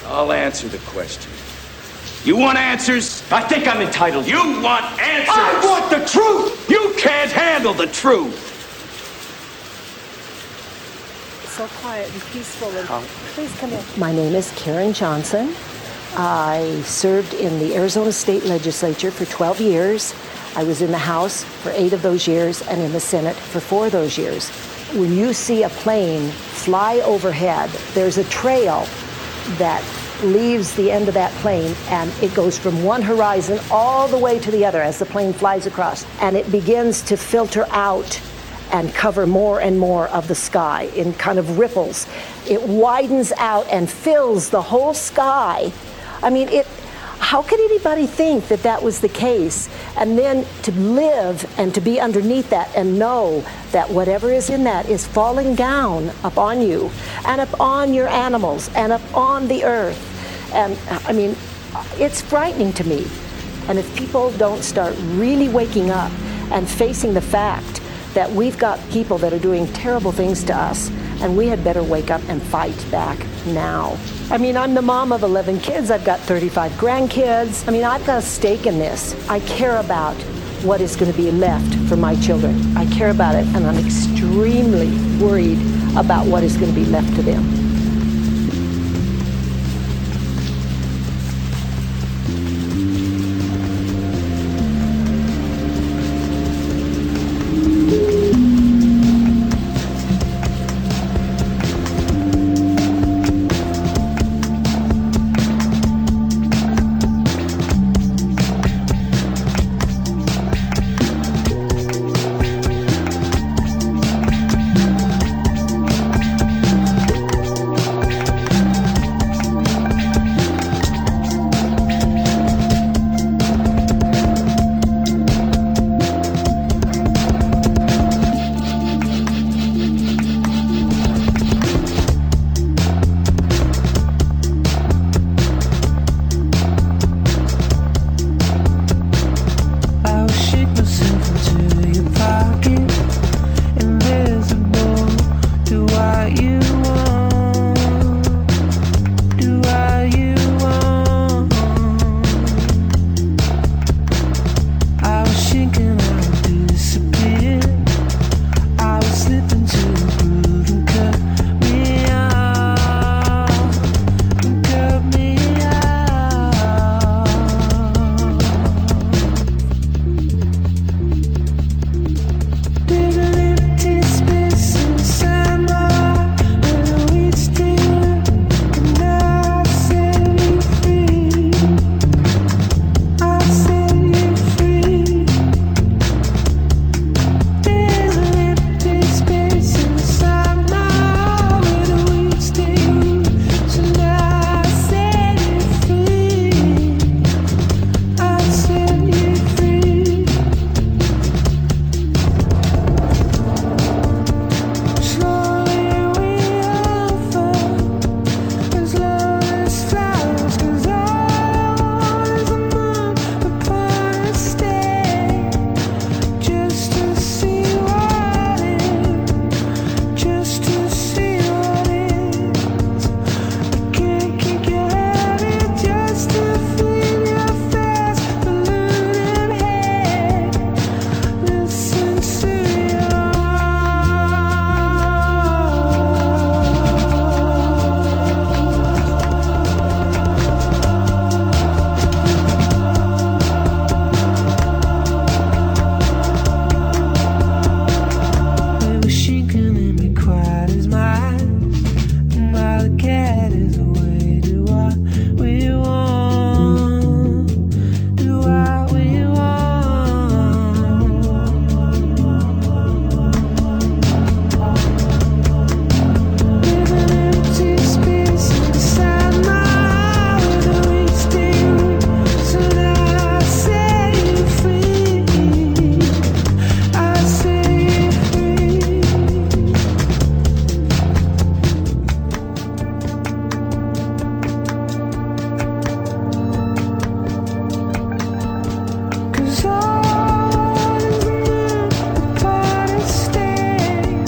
I'll answer the question. You want answers? I think I'm entitled. You want answers? I want the truth! You can't handle the truth! So quiet and peaceful. And please come in. My name is Karen Johnson. I served in the Arizona State Legislature for 12 years. I was in the House for 8 of those years and in the Senate for 4 of those years. When you see a plane fly overhead, there's a trail that leaves the end of that plane, and it goes from one horizon all the way to the other as the plane flies across, and it begins to filter out and cover more and more of the sky in kind of ripples. It widens out and fills the whole sky. I mean, how could anybody think that that was the case? And then to live and to be underneath that and know that whatever is in that is falling down upon you and upon your animals and upon the earth. And I mean, it's frightening to me. And if people don't start really waking up and facing the fact that we've got people that are doing terrible things to us, and we had better wake up and fight back now. I mean, I'm the mom of 11 kids. I've got 35 grandkids. I mean, I've got a stake in this. I care about what is going to be left for my children. I care about it, and I'm extremely worried about what is going to be left to them.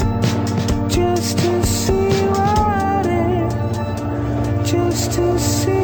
Just to see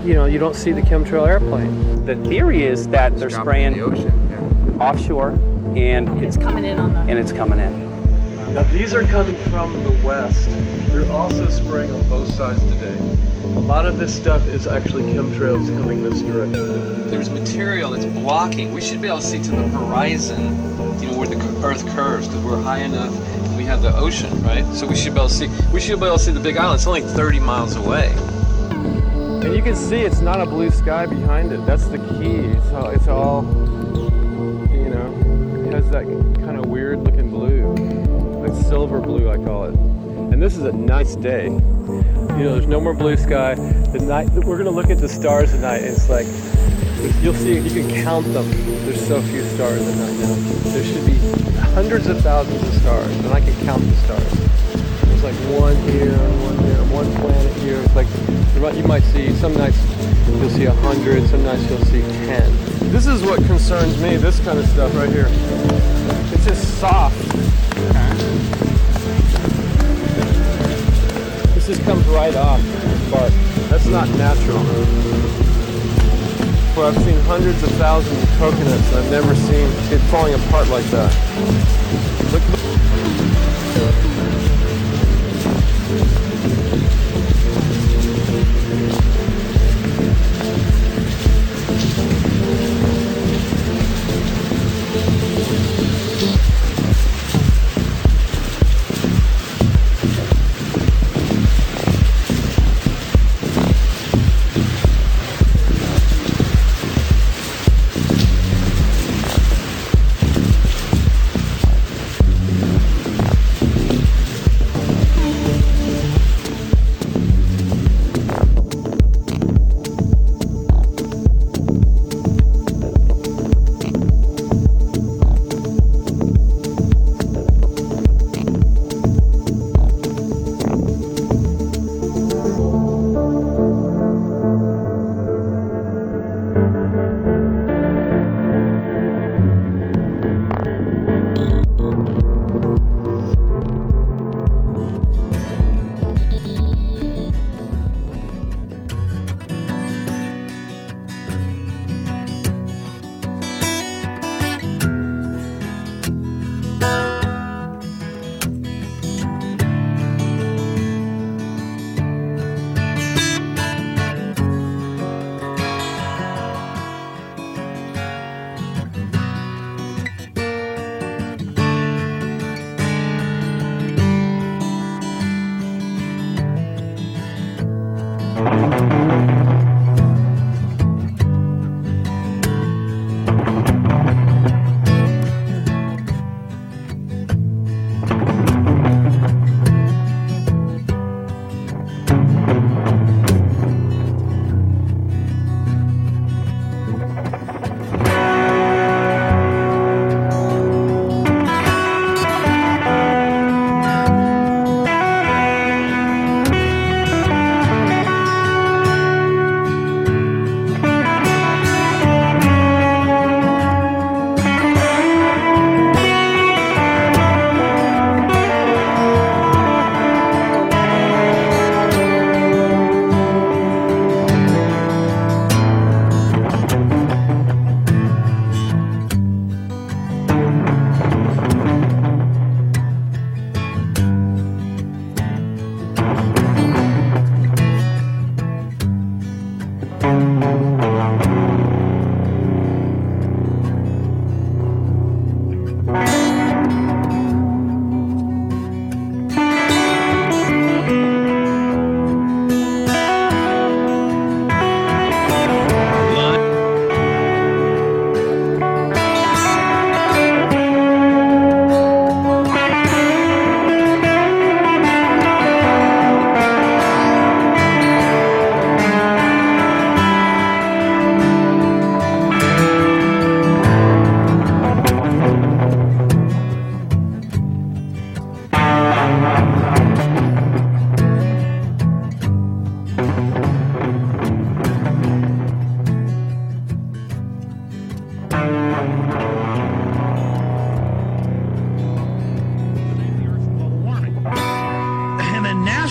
you don't see the chemtrail airplane. The theory is that they're spraying the ocean. offshore, and It's coming in on the... and it's coming in. Now, these are coming from the west. They're also spraying on both sides today. A lot of this stuff is actually chemtrails coming this direction. There's material that's blocking. We should be able to see to the horizon, where the Earth curves, because we're high enough. We have the ocean, right? So we should be able to see. We should be able to see the Big Island. It's only 30 miles away. And you can see it's not a blue sky behind it. That's the key. It's all it has that kind of weird looking blue, like silver blue, I call it. And this is a nice day. There's no more blue sky. The night we're gonna look at the stars tonight. And it's like you'll see. You can count them. There's so few stars at night now. There should be hundreds of thousands of stars, and I can count the stars. There's like one here, one planet here. It's like you might see some nights you'll see 100, some nights you'll see 10. This is what concerns me. This kind of stuff right here. It's just soft. This just comes right off the bark. That's not natural. Well, I've seen hundreds of thousands of coconuts, and I've never seen it falling apart like that. Look.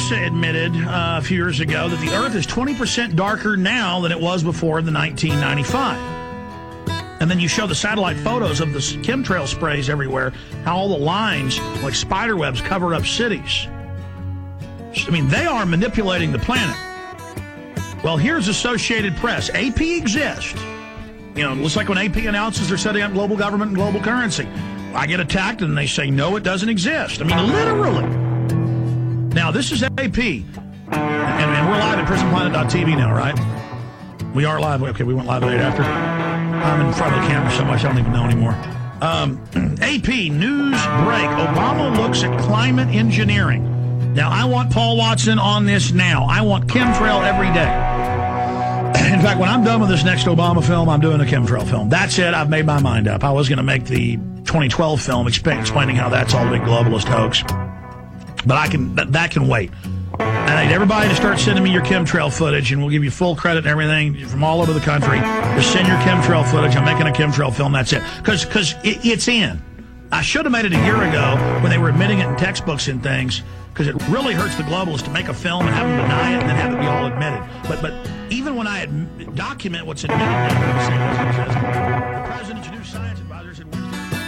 NASA admitted a few years ago that the Earth is 20% darker now than it was before in the 1995. And then you show the satellite photos of the chemtrail sprays everywhere, how all the lines, like spider webs, cover up cities. I mean, they are manipulating the planet. Well, here's Associated Press. AP exists. You know, it looks like when AP announces they're setting up global government and global currency. I get attacked and they say, no, it doesn't exist. I mean, literally. Now, this is AP. And we're live at prisonplanet.tv now, right? We are live. Okay, we went live late after. I'm in front of the camera so much I don't even know anymore. AP News Break. Obama looks at climate engineering. Now, I want Paul Watson on this now. I want chemtrail every day. In fact, when I'm done with this next Obama film, I'm doing a chemtrail film. That's it. I've made my mind up. I was going to make the 2012 film explaining how that's all a big globalist hoax. But that can wait. And I need everybody to start sending me your chemtrail footage, and we'll give you full credit and everything from all over the country. Just send your chemtrail footage. I'm making a chemtrail film. That's it. Because it's in. I should have made it a year ago when they were admitting it in textbooks and things, because it really hurts the globalists to make a film and have them deny it and then have it be all admitted. But even when I document what's admitted, the president's new science advisor said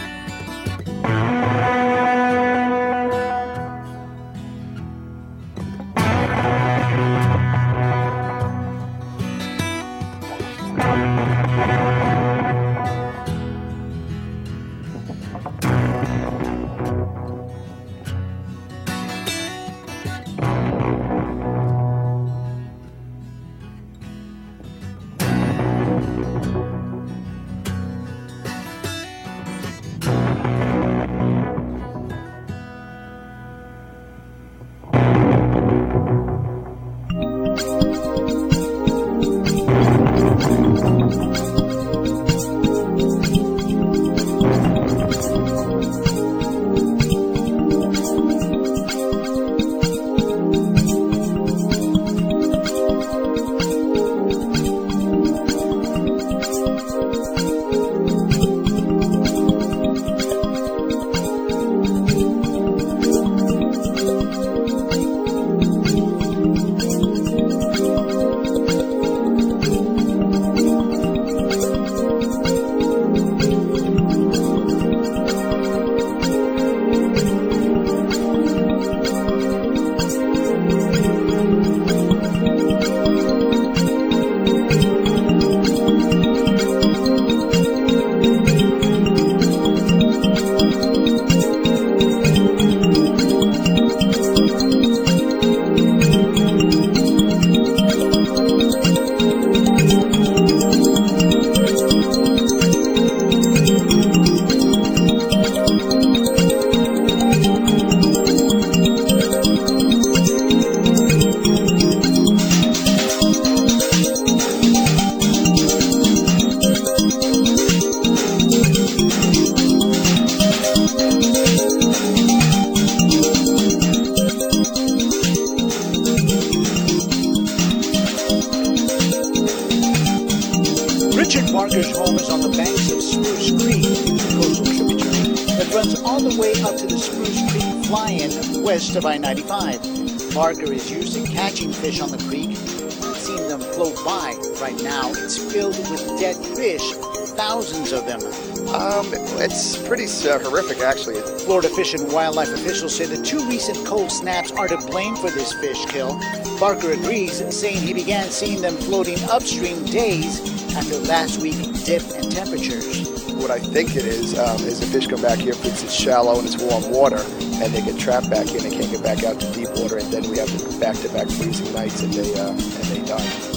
Richard Barker's home is on the banks of Spruce Creek, the coastal tributary that runs all the way up to the Spruce Creek fly-in west of I-95. Barker is used to catching fish on the creek. I've seen them float by. Right now, it's filled with dead fish, thousands of them. It's pretty horrific, actually. Florida Fish and Wildlife officials say the two recent cold snaps are to blame for this fish kill. Barker agrees, saying he began seeing them floating upstream days after last week's dip in temperatures. What I think it is the fish come back here because it's shallow and it's warm water, and they get trapped back in and can't get back out to deep water, and then we have to back-to-back freezing nights, and they die.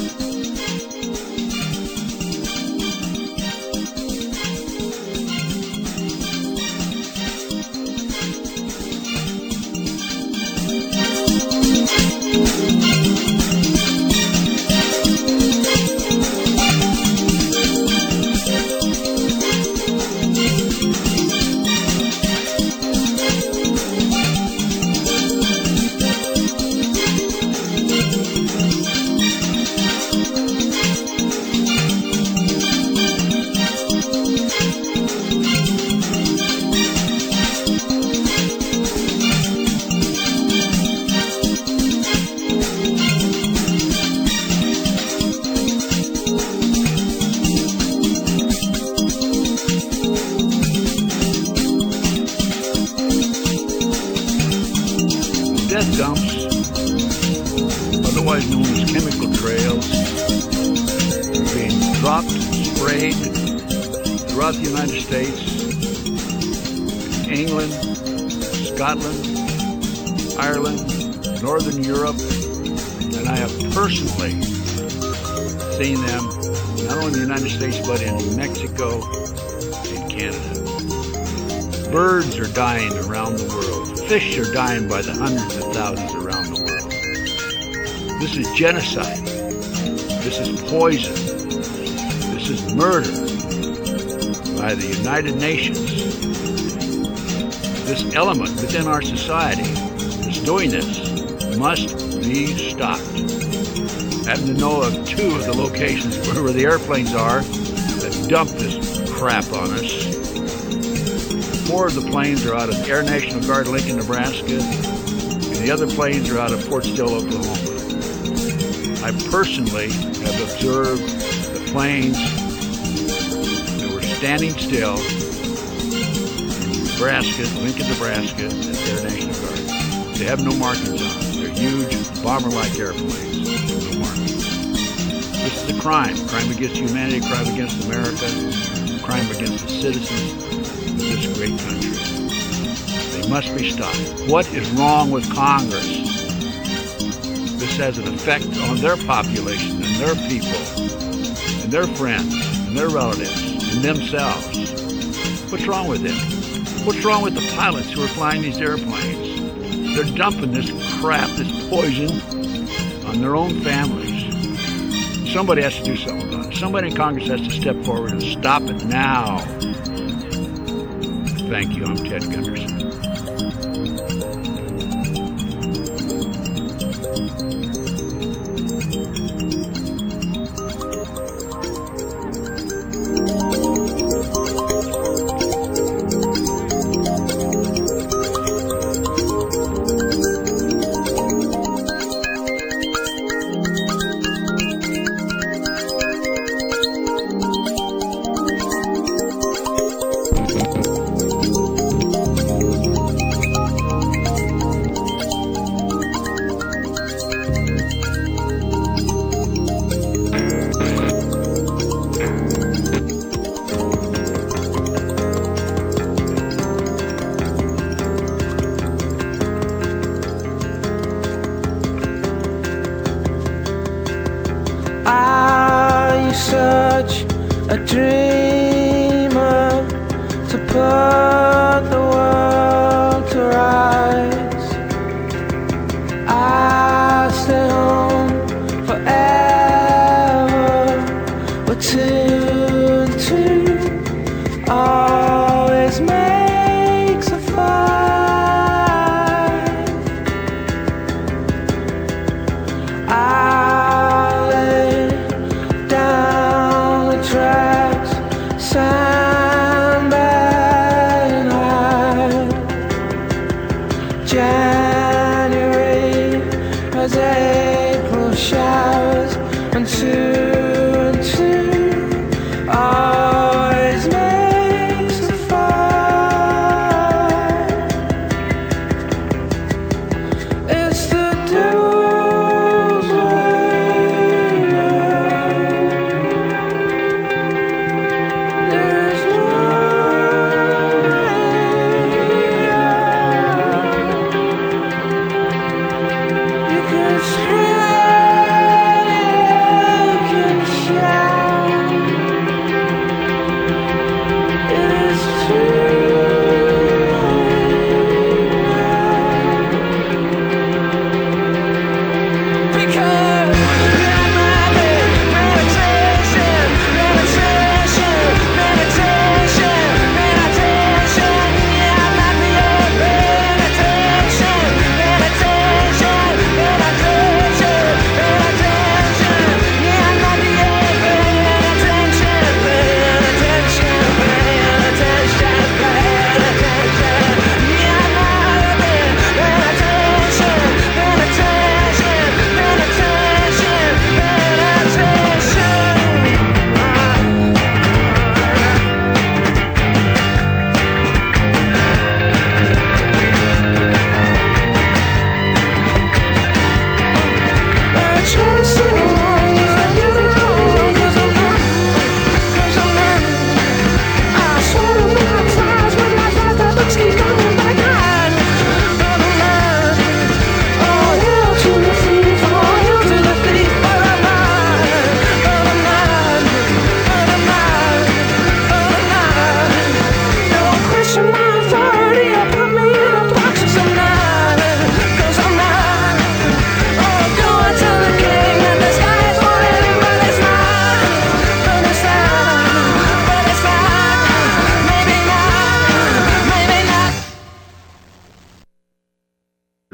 death dumps, otherwise known as chemical trails, being dropped, sprayed throughout the United States, England, Scotland, Ireland, Northern Europe, and I have personally seen them not only in the United States but in Mexico and Canada. Birds are dying around the world. Fish are dying by the hundreds of thousands around the world. This is genocide. This is poison. This is murder by the United Nations. This element within our society that's doing this must be stopped. I happen to know of 2 of the locations where the airplanes are that dump this crap on us. 4 of the planes are out of Air National Guard, Lincoln, Nebraska, and the other planes are out of Fort Still, Oklahoma. I personally have observed the planes that were standing still in Nebraska, Lincoln, Nebraska, at Air National Guard. They have no markings on them. They're huge, bomber-like airplanes. No markings. This is a crime. Crime against humanity, crime against America, crime against the citizens of this great country. They must be stopped. What is wrong with Congress? This has an effect on their population and their people and their friends and their relatives and themselves. What's wrong with them? What's wrong with the pilots who are flying these airplanes? They're dumping this crap, this poison, on their own families. Somebody has to do something about it. Somebody in Congress has to step forward and stop it now. Thank you. I'm Ted Gunderson.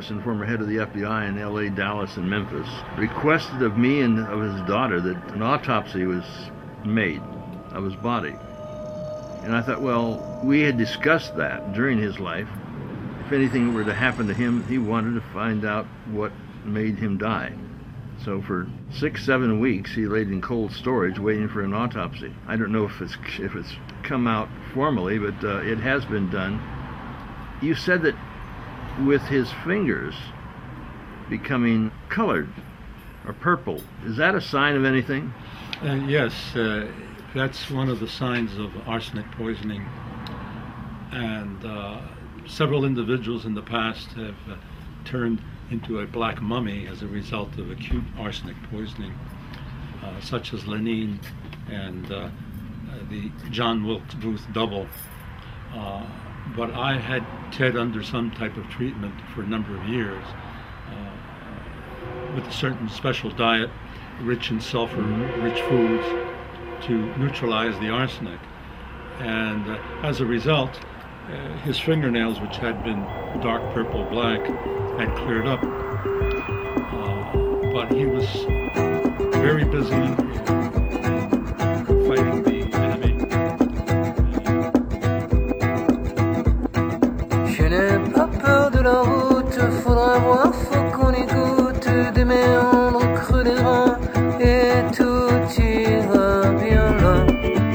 Jacobson, former head of the FBI in L.A., Dallas, and Memphis, requested of me and of his daughter that an autopsy was made of his body. And I thought, well, we had discussed that during his life. If anything were to happen to him, he wanted to find out what made him die. So for 6-7 weeks, he laid in cold storage waiting for an autopsy. I don't know if it's come out formally, but it has been done. You said that with his fingers becoming colored or purple, is that a sign of anything? Yes, that's one of the signs of arsenic poisoning. And several individuals in the past have turned into a black mummy as a result of acute arsenic poisoning, such as Lenine and the John Wilkes Booth double. But I had Ted under some type of treatment for a number of years with a certain special diet, rich in sulfur, rich foods, to neutralize the arsenic. And as a result, his fingernails, which had been dark purple black, had cleared up. But he was very busy fighting the enemy. Je n'ai pas peur de la route, faudra voir, faut qu'on y goûte, des méandres creux des reins, et tout ira bien là.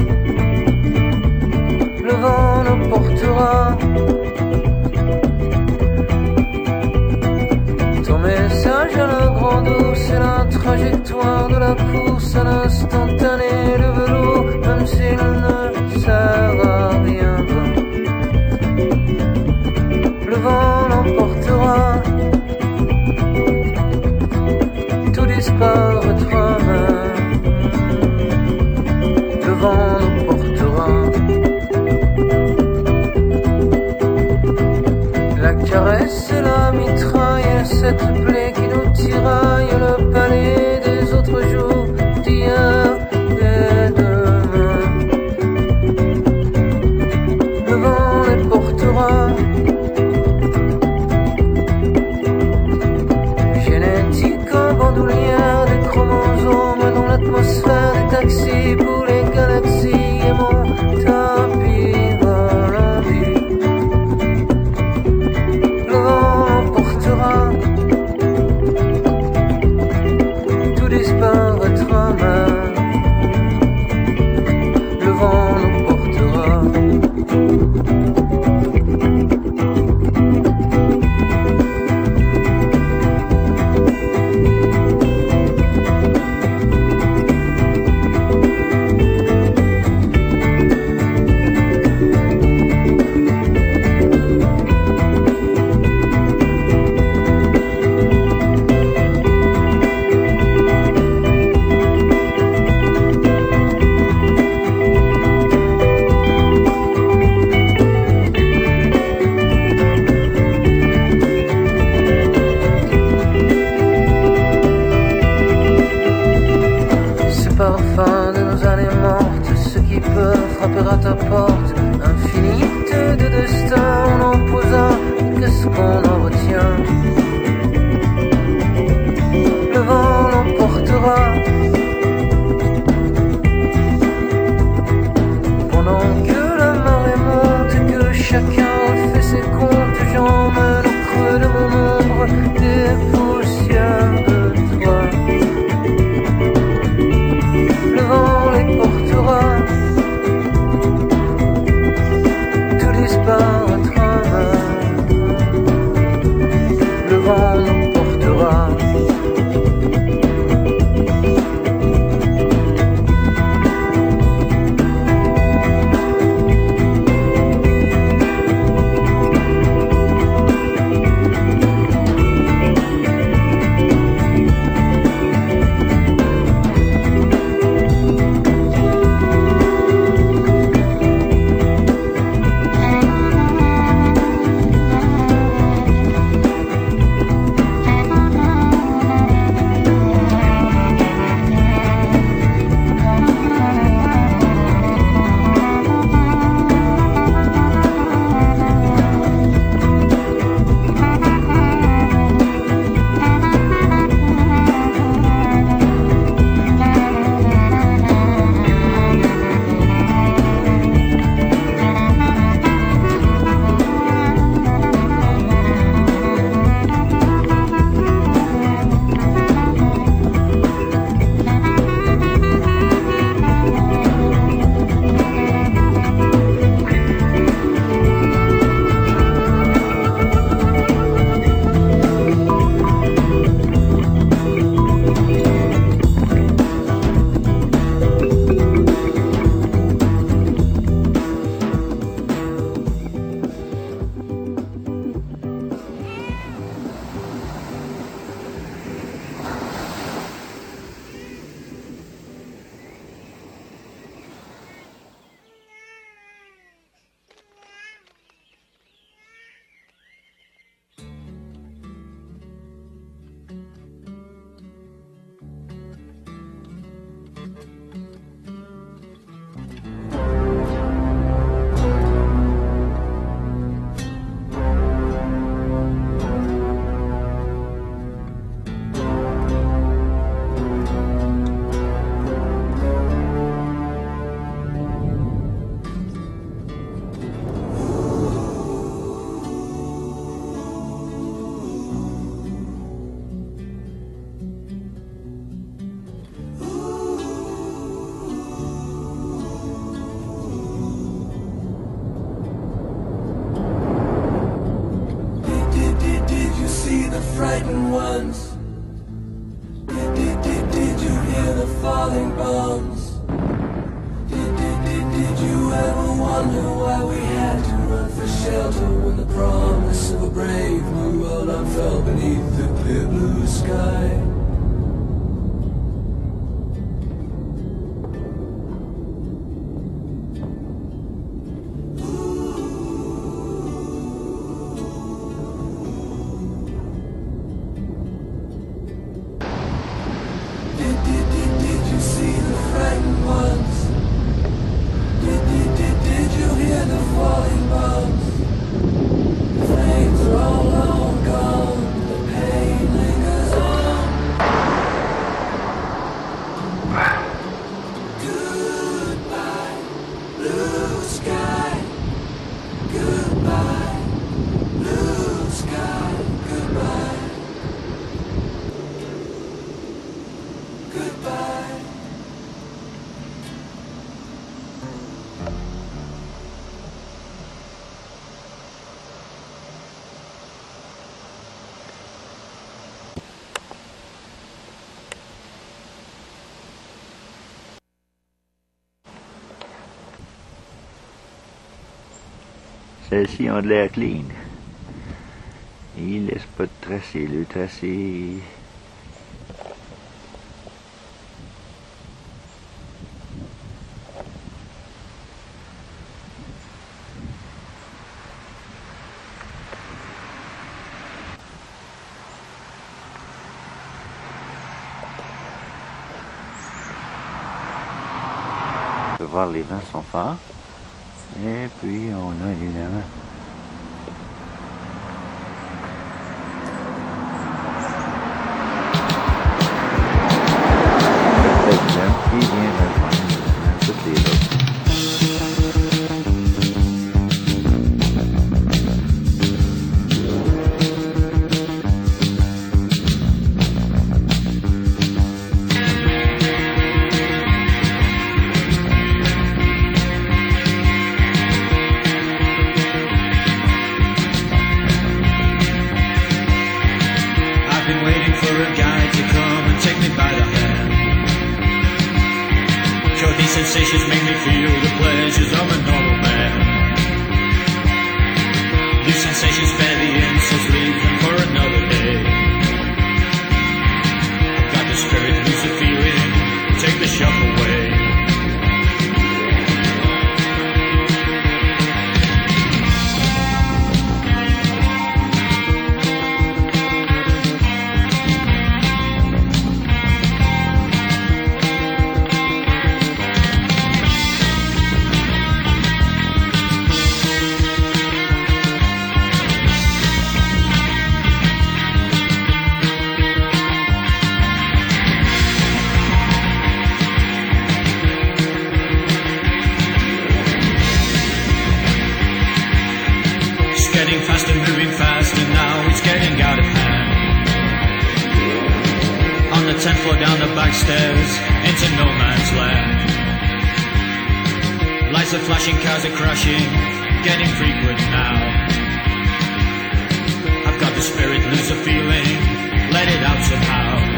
Le vent nous portera. Ton message à la grande eau, c'est la trajectoire de la course à l'instantané, le vélo, même s'il ne sert à rien. Le vent l'emportera, tout disparaîtra même. Le vent l'emportera. La caresse et la mitraille, cette plaie qui nous tiraille, le palais des autres jours, d'hier et demain. Le vent les portera. Génétique en bandoulière, des chromosomes dans l'atmosphère, des taxis pour les galaxies et mon tapis volant. Le vent l'emportera. frightened ones? Did you hear the falling bombs? Did you ever wonder why we had to run for shelter when the promise of a brave new world unfurled beneath the clear blue sky? Did you see the frightened ones? Did you hear the falling bombs? The flames are all long gone, the pain lingers on. Goodbye, blue sky. Goodbye, blue sky. Goodbye. Goodbye. Celles-ci ont de l'air clean. Ils laissent pas de tracé. Le tracé... On peut voir les vents sont forts. Et puis on a évidemment l'exemple qui vient rejoindre toutes les autres. Sensations make me feel the pleasures of a normal man. New sensations bear the insults, leave them for another day. I've got the spirit, lose the feeling, take the shock away. Moving fast and now it's getting out of hand. On the 10th floor down the back stairs into no man's land. Lights are flashing, cars are crashing, getting frequent now. I've got the spirit, lose the feeling, let it out somehow.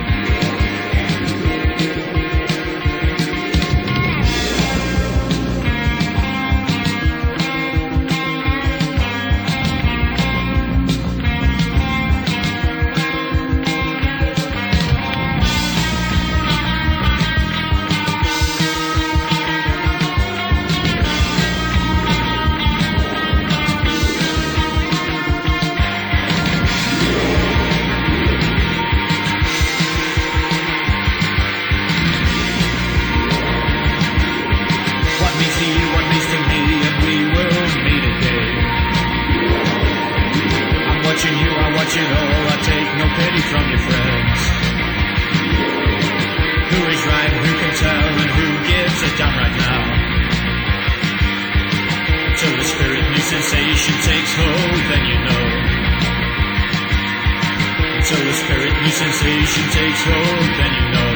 Watching all, I take no pity from your friends. Who is right, who can tell, and who gives a damn right now? Till the spirit new sensation takes hold, then you know. Until the spirit new sensation takes hold, then you know.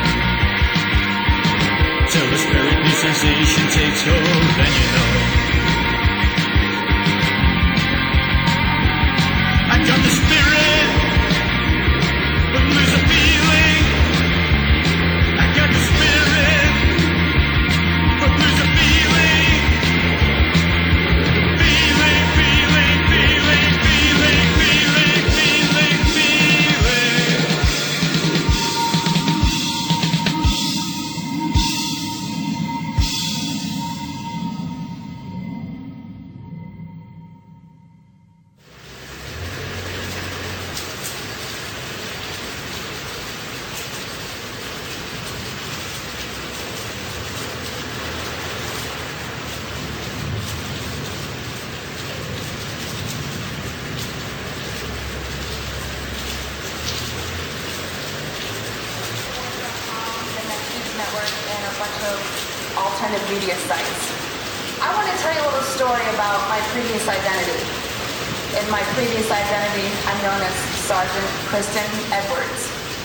Till the spirit new sensation takes hold, then you know. I got the spirit. bunch of alternative media sites. I want to tell you a little story about my previous identity. In my previous identity, I'm known as Sergeant Kristen Edwards.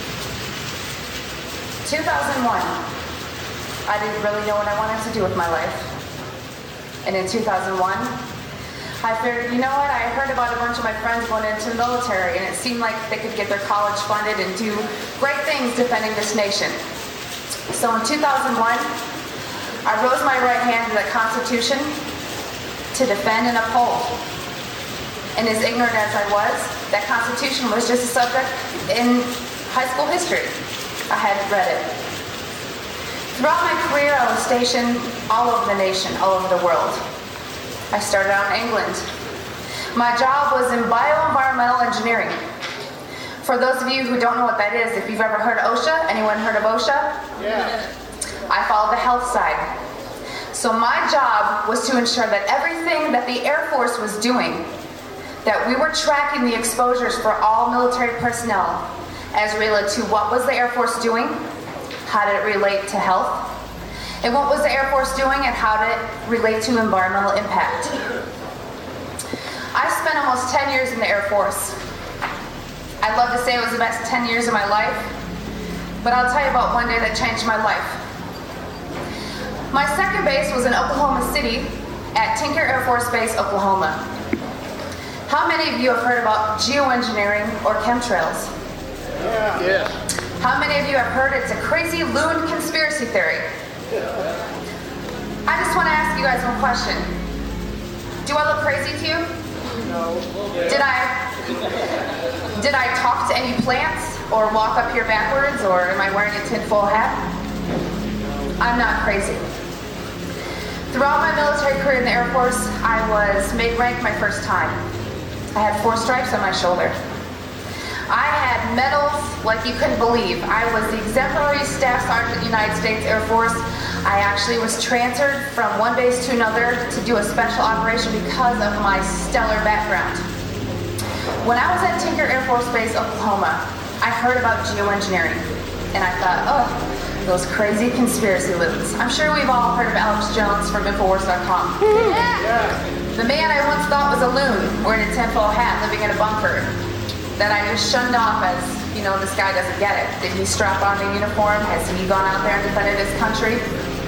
2001, I didn't really know what I wanted to do with my life. And in 2001, I figured, you know what, I heard about a bunch of my friends going into the military, and it seemed like they could get their college funded and do great things defending this nation. So in 2001, I rose my right hand to the Constitution to defend and uphold. And as ignorant as I was, that Constitution was just a subject in high school history. I hadn't read it. Throughout my career, I was stationed all over the nation, all over the world. I started out in England. My job was in bioenvironmental engineering. For those of you who don't know what that is, if you've ever heard of OSHA, anyone heard of OSHA? Yeah. I followed the health side. So my job was to ensure that everything that the Air Force was doing, that we were tracking the exposures for all military personnel as related to what was the Air Force doing, how did it relate to health, and what was the Air Force doing and how did it relate to environmental impact. I spent almost 10 years in the Air Force. I'd love to say it was the best 10 years of my life, but I'll tell you about one day that changed my life. My second base was in Oklahoma City at Tinker Air Force Base, Oklahoma. How many of you have heard about geoengineering or chemtrails? Yeah. How many of you have heard it's a crazy loon conspiracy theory? I just want to ask you guys one question. Do I look crazy to you? No. Did I talk to any plants or walk up here backwards, or am I wearing a tinfoil hat? I'm not crazy. Throughout my military career in the Air Force, I was made rank my first time. I had 4 stripes on my shoulder. I had medals like you couldn't believe. I was the exemplary staff sergeant of the United States Air Force. I actually was transferred from one base to another to do a special operation because of my stellar background. When I was at Tinker Air Force Base, Oklahoma, I heard about geoengineering, and I thought, oh, those crazy conspiracy loons. I'm sure we've all heard of Alex Jones from Infowars.com. Yeah. The man I once thought was a loon, wearing a tinfoil hat, living in a bunker, that I just shunned off as, you know, this guy doesn't get it. Did he strap on the uniform? Has he gone out there and defended his country?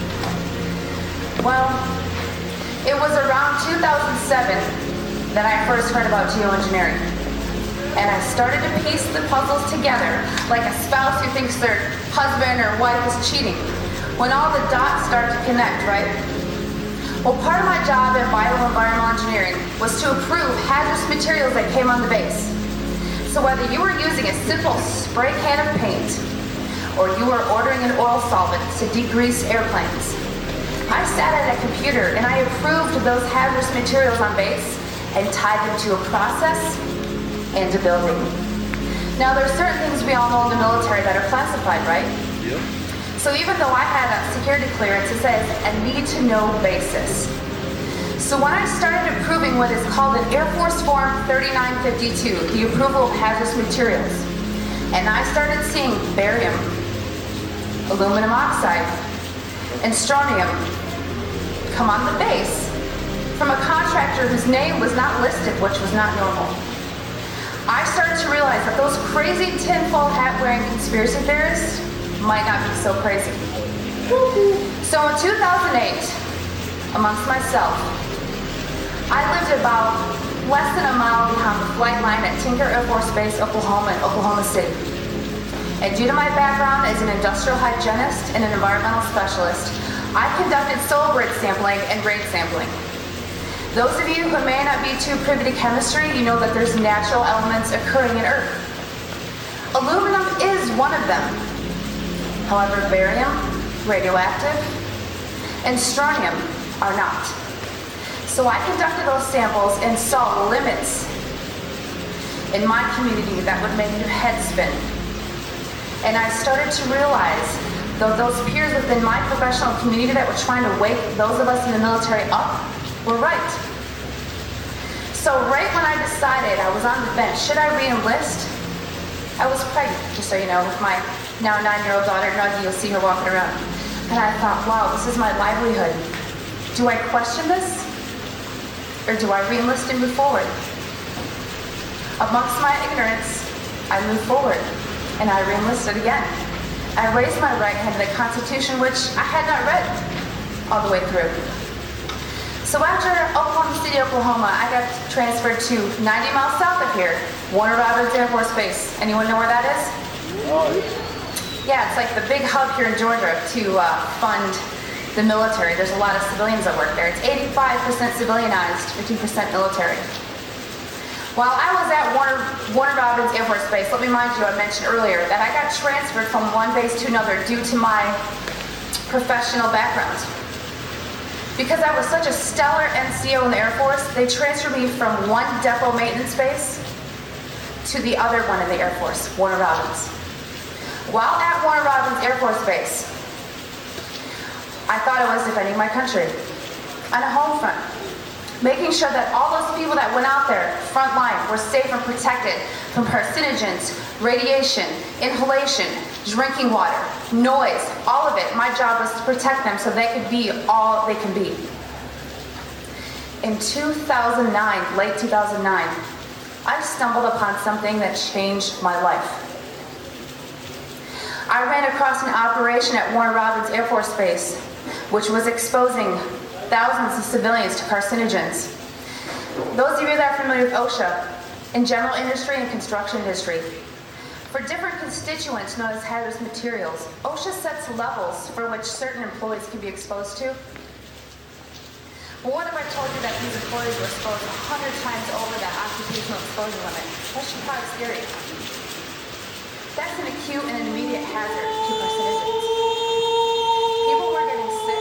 Well, it was around 2007 that I first heard about geoengineering. And I started to piece the puzzles together, like a spouse who thinks their husband or wife is cheating, when all the dots start to connect, right? Well, part of my job in bioenvironmental engineering was to approve hazardous materials that came on the base. So whether you were using a simple spray can of paint, or you were ordering an oil solvent to degrease airplanes, I sat at a computer and I approved those hazardous materials on base and tied them to a process and a building. Now, there are certain things we all know in the military that are classified, right? Yep. So even though I had a security clearance, it says a need-to-know basis. So when I started approving what is called an Air Force Form 3952, the approval of hazardous materials, and I started seeing barium, aluminum oxide, and strontium come on the base from a contractor whose name was not listed, which was not normal, I started to realize that those crazy tinfoil hat-wearing conspiracy theorists might not be so crazy. So in 2008, amongst myself, I lived about less than a mile behind the flight line at Tinker Air Force Base, Oklahoma, in Oklahoma City. And due to my background as an industrial hygienist and an environmental specialist, I conducted soil grit sampling and grade sampling. Those of you who may not be too privy to chemistry, you know that there's natural elements occurring in Earth. Aluminum is one of them. However, barium, radioactive, and strontium are not. So I conducted those samples and saw limits in my community that would make your head spin. And I started to realize that those peers within my professional community that were trying to wake those of us in the military up were right. So right when I decided I was on the bench, should I re-enlist? I was pregnant, just so you know, with my now 9-year-old daughter, Nuggie. You'll see her walking around. And I thought, wow, this is my livelihood. Do I question this? Or do I re-enlist and move forward? Amongst my ignorance, I moved forward, and I re-enlisted again. I raised my right hand to the Constitution, which I had not read all the way through. So after Oklahoma City, Oklahoma, I got transferred to 90 miles south of here, Warner Robins Air Force Base. Anyone know where that is? Yeah, it's like the big hub here in Georgia to fund the military. There's a lot of civilians that work there. It's 85% civilianized, 15% military. While I was at Warner Robins Air Force Base, let me remind you, I mentioned earlier that I got transferred from one base to another due to my professional background. Because I was such a stellar NCO in the Air Force, they transferred me from one depot maintenance base to the other one in the Air Force, Warner Robins. While at Warner Robins Air Force Base, I thought I was defending my country on a home front, making sure that all those people that went out there, front line, were safe and protected from carcinogens, radiation, inhalation, drinking water, noise, all of it. My job was to protect them so they could be all they can be. In 2009, late 2009, I stumbled upon something that changed my life. I ran across an operation at Warner Robins Air Force Base, which was exposing thousands of civilians to carcinogens. Those of you that are familiar with OSHA, in general industry and construction industry, for different constituents known as hazardous materials, OSHA sets levels for which certain employees can be exposed to. But what if I told you that these employees were exposed 100 times over that occupational exposure limit? That should probably scare you. That's an acute and an immediate hazard to carcinogens. People were getting sick.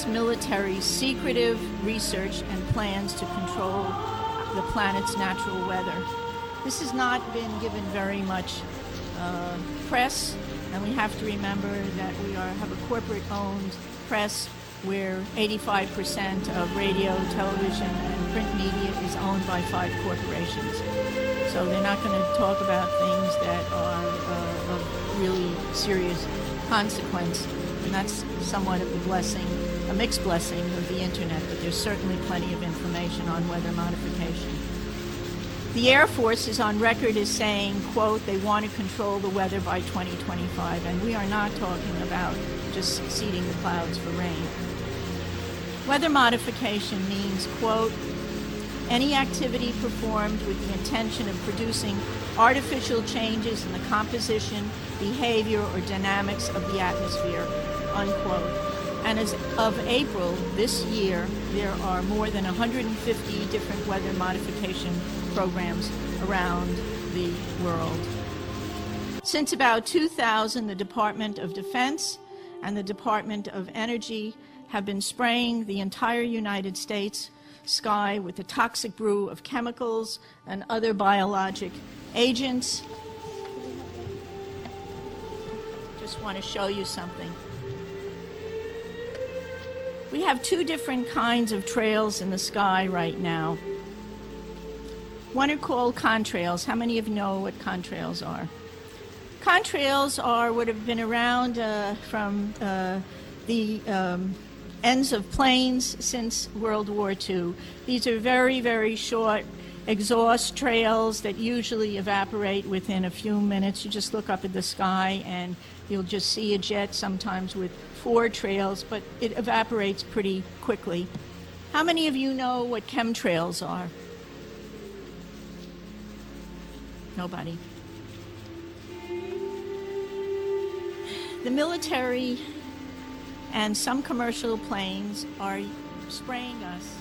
U.S. military's secretive research and plans to control the planet's natural weather. This has not been given very much press, and we have to remember that we have a corporate-owned press where 85% of radio, television, and print media is owned by 5 corporations. So they're not going to talk about things that are of really serious consequence, and that's somewhat of a blessing, a mixed blessing of the internet, but there's certainly plenty of information on weather modification. The Air Force is on record as saying, quote, they want to control the weather by 2025, and we are not talking about just seeding the clouds for rain. Weather modification means, quote, any activity performed with the intention of producing artificial changes in the composition, behavior, or dynamics of the atmosphere, unquote. And as of April this year, there are more than 150 different weather modification programs around the world. Since about 2000, the Department of Defense and the Department of Energy have been spraying the entire United States sky with a toxic brew of chemicals and other biologic agents. Just want to show you something. We have 2 different kinds of trails in the sky right now. One are called contrails. How many of you know what contrails are? Contrails are what have been around from the ends of planes since World War II. These are very, very short exhaust trails that usually evaporate within a few minutes. You just look up at the sky and you'll just see a jet, sometimes with 4 trails, but it evaporates pretty quickly. How many of you know what chemtrails are? Nobody. The military and some commercial planes are spraying us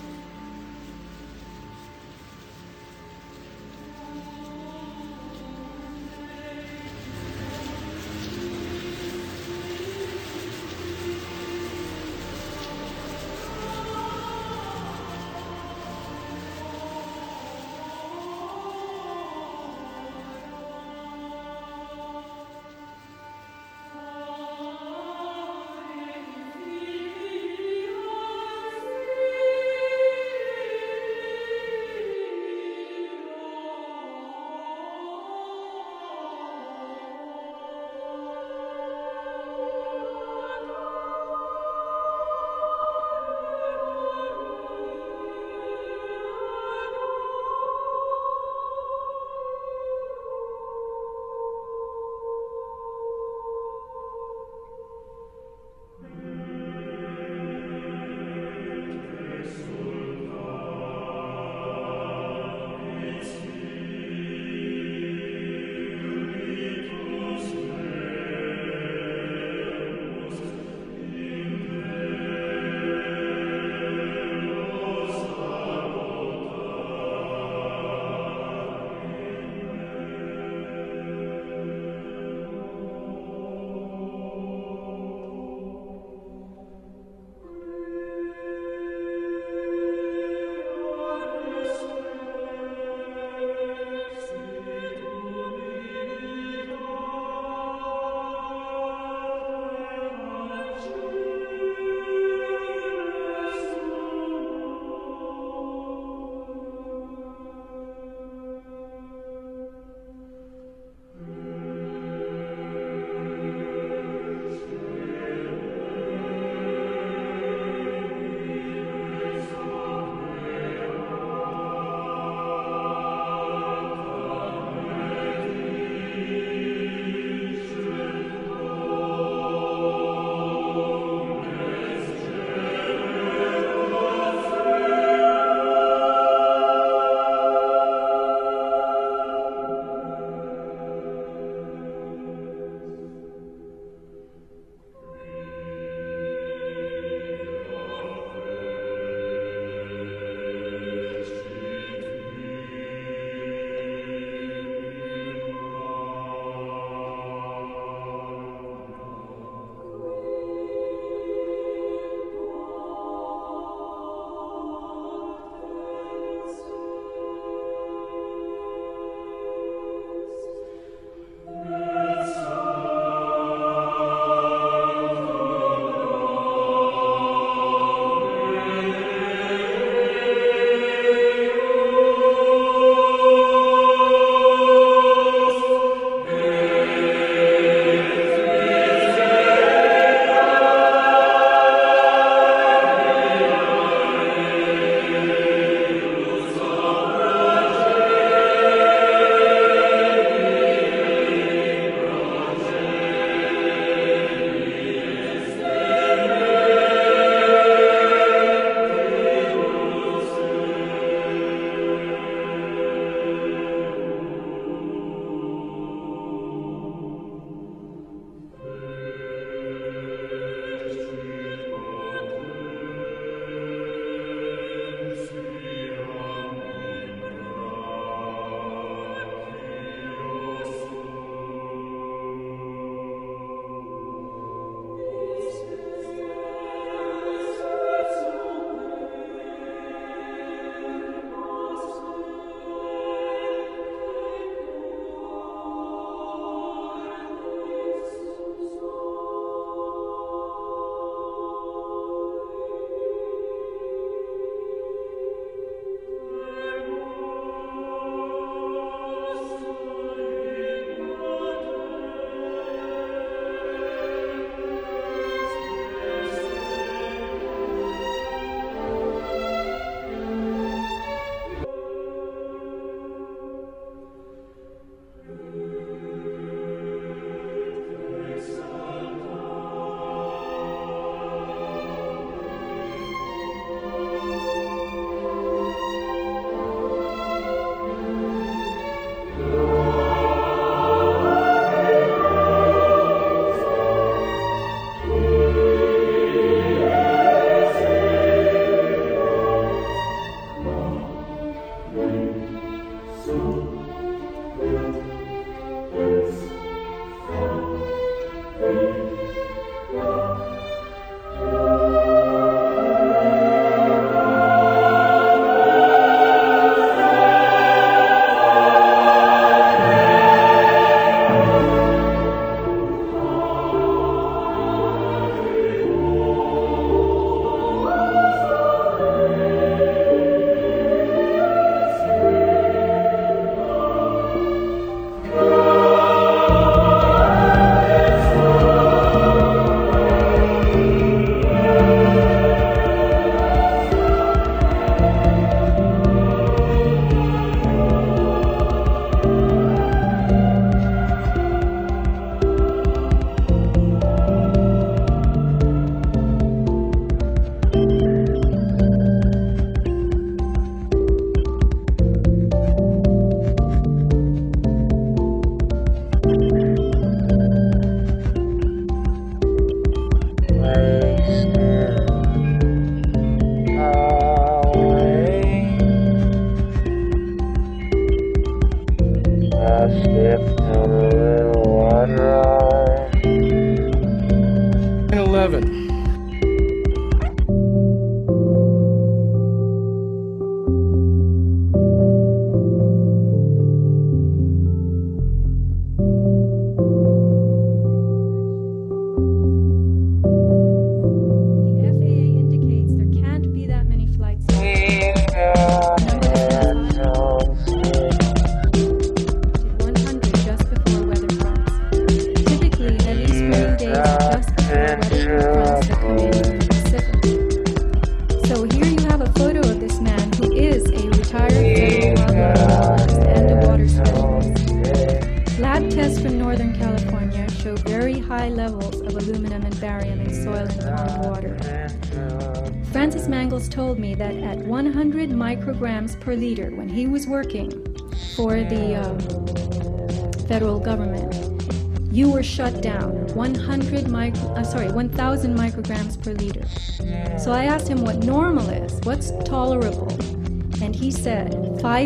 high levels of aluminum and barium in soil and pond water. Francis Mangels told me that at 100 micrograms per liter, when he was working for the federal government, you were shut down. 1,000 micrograms per liter. So I asked him what normal is, what's tolerable, and he said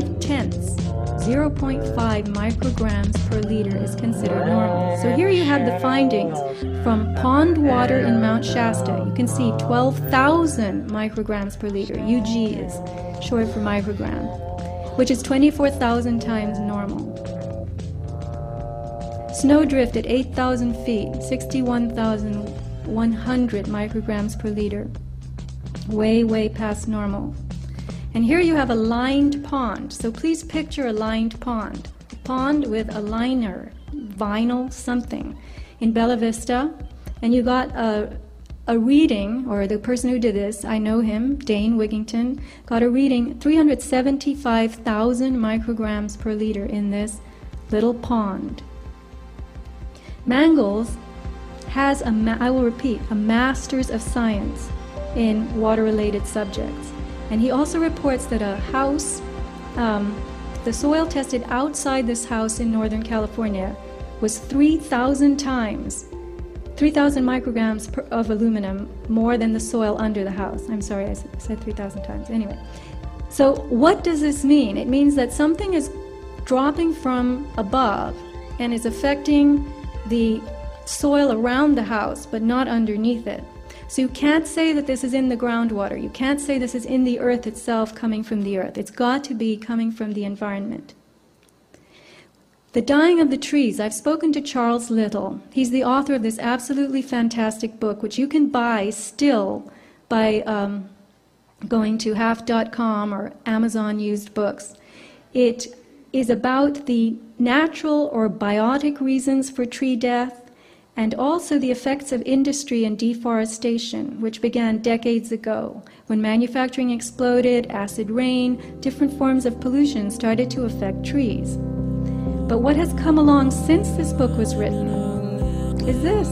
0.5 micrograms per liter is considered normal. So here you have the findings from pond water in Mount Shasta. You can see 12,000 micrograms per liter. UG is short for microgram, which is 24,000 times normal. Snowdrift at 8,000 feet, 61,100 micrograms per liter. Way, way past normal. And here you have a lined pond. So please picture a lined pond. A pond with a liner, vinyl something, in Bella Vista. And you got a reading, or the person who did this, I know him, Dane Wigington, got a reading 375,000 micrograms per liter in this little pond. Mangels has, I will repeat, a Master's of Science in water-related subjects. And he also reports that a house, the soil tested outside this house in Northern California was 3,000 micrograms of aluminum more than the soil under the house. I'm sorry, I said 3,000 times. Anyway, so what does this mean? It means that something is dropping from above and is affecting the soil around the house, but not underneath it. So you can't say that this is in the groundwater. You can't say this is in the earth itself, coming from the earth. It's got to be coming from the environment. The dying of the trees. I've spoken to Charles Little. He's the author of this absolutely fantastic book, which you can buy still by going to half.com or Amazon used books. It is about the natural or biotic reasons for tree death, and also the effects of industry and deforestation, which began decades ago. When manufacturing exploded, acid rain, different forms of pollution started to affect trees. But what has come along since this book was written is this.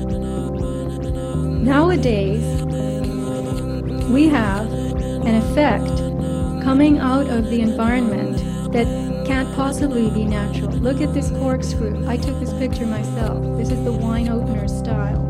Nowadays, we have an effect coming out of the environment that can't possibly be natural. Look at this corkscrew. I took this picture myself. This is the wine opener style.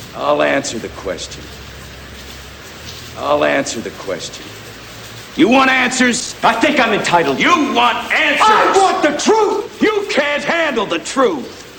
I'll answer the question. I'll answer the question. You want answers? I think I'm entitled. You want answers? I want the truth! You can't handle the truth.